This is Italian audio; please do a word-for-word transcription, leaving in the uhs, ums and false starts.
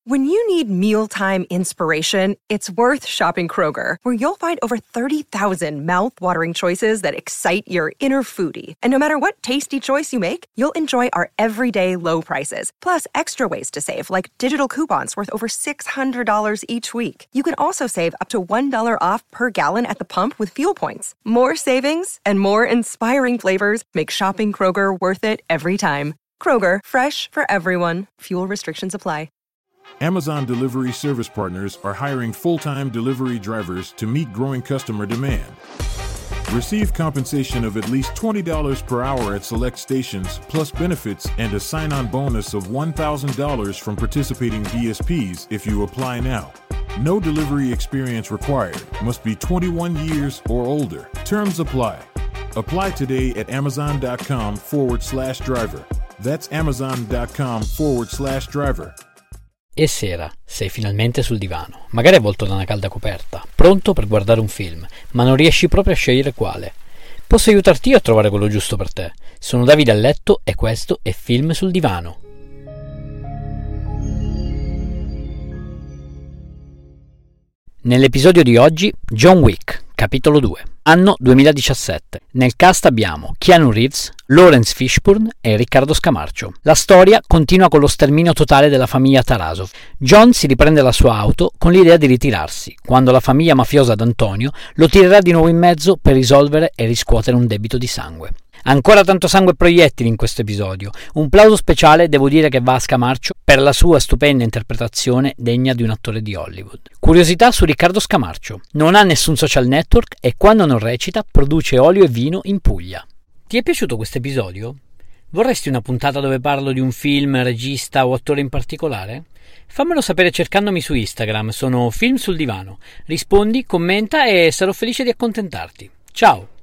When you need mealtime inspiration, it's worth shopping Kroger, where you'll find over thirty thousand mouth-watering choices that excite your inner foodie. And no matter what tasty choice you make, you'll enjoy our everyday low prices, plus extra ways to save, like digital coupons worth over six hundred dollars each week. You can also save up to one dollar off per gallon at the pump with fuel points. More savings and more inspiring flavors make shopping Kroger worth it every time. Kroger, fresh for everyone. Fuel restrictions apply. Amazon Delivery Service Partners are hiring full-time delivery drivers to meet growing customer demand. Receive compensation of at least twenty dollars per hour at select stations, plus benefits and a sign-on bonus of one thousand dollars from participating D S Ps if you apply now. No delivery experience required. Must be twenty-one years or older. Terms apply. Apply today at amazon.com forward slash driver. That's amazon.com forward slash driver. E sera, sei finalmente sul divano, magari avvolto da una calda coperta, pronto per guardare un film, ma non riesci proprio a scegliere quale. Posso aiutarti io a trovare quello giusto per te. Sono Davide a letto e questo è Film sul divano. Nell'episodio di oggi, John Wick, capitolo due, anno duemiladiciassette. Nel cast abbiamo Keanu Reeves, Lawrence Fishburne e Riccardo Scamarcio. La storia continua con lo sterminio totale della famiglia Tarasov. John si riprende la sua auto con l'idea di ritirarsi, quando la famiglia mafiosa d'Antonio lo tirerà di nuovo in mezzo per risolvere e riscuotere un debito di sangue. Ancora tanto sangue e proiettili in questo episodio. Un plauso speciale devo dire che va a Scamarcio per la sua stupenda interpretazione degna di un attore di Hollywood. Curiosità su Riccardo Scamarcio: non ha nessun social network e quando non recita produce olio e vino in Puglia. Ti è piaciuto questo episodio? Vorresti una puntata dove parlo di un film, regista o attore in particolare? Fammelo sapere cercandomi su Instagram, sono Film sul divano. Rispondi, commenta e sarò felice di accontentarti. Ciao!